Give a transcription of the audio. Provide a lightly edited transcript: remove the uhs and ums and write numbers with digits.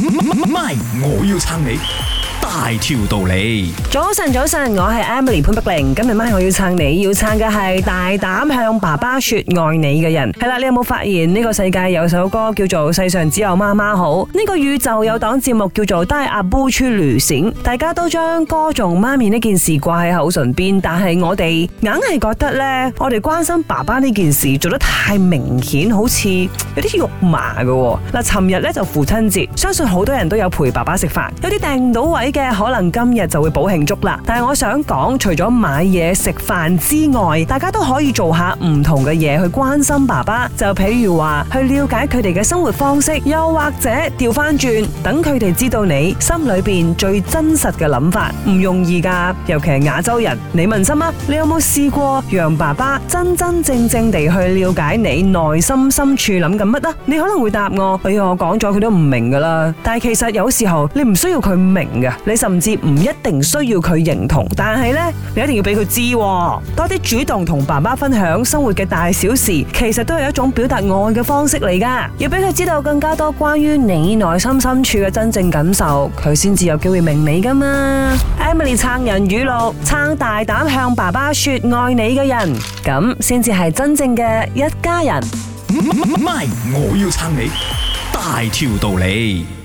MY， 我要撐你大條道理。 早晨，我係 Emily 潘碧玲。今日MY我要撐你，要撐嘅係大膽向爸爸說愛你嘅人。係啦，你有冇發現呢個世界有首歌叫做《世上只有媽媽好》？呢個宇宙有檔節目叫做《帶阿 Boo 出旅行》，大家都將歌頌媽咪呢件事掛喺口唇邊，但係我哋硬係覺得呢，我哋關心爸爸呢件事做得太明顯，好似有啲肉麻嘅。嗱，尋日呢就父親節，相信好多人都有陪爸爸食飯，有啲訂唔到位嘅，可能今日就會補慶祝啦。但係我想講，除咗買嘢食飯之外，大家都可以做下唔同嘅嘢去關心爸爸。就譬如話去了解佢哋嘅生活方式，又或者調翻轉，等佢哋知道你心裏邊最真實嘅諗法，唔容易噶。尤其係亞洲人，你問心啊，你有冇試過讓爸爸真真正正地去了解你內心深處諗緊乜啊？你可能會答我，哎呀，我講咗佢都唔明噶啦。但係其實有時候你唔需要佢明噶，你甚至唔一定需要佢認同，但係呢，你一定要俾佢知喎。多啲主動同爸爸分享生活嘅大小事，其實都係一種表達愛嘅方式嚟噶。要俾佢知道更加多關於你內心深處嘅真正感受，佢先至有機會明你噶嘛。Emily 撐人語錄，撐大膽向爸爸說愛你嘅人，咁先至係真正嘅一家人。 MY， 我要撐你大條道理。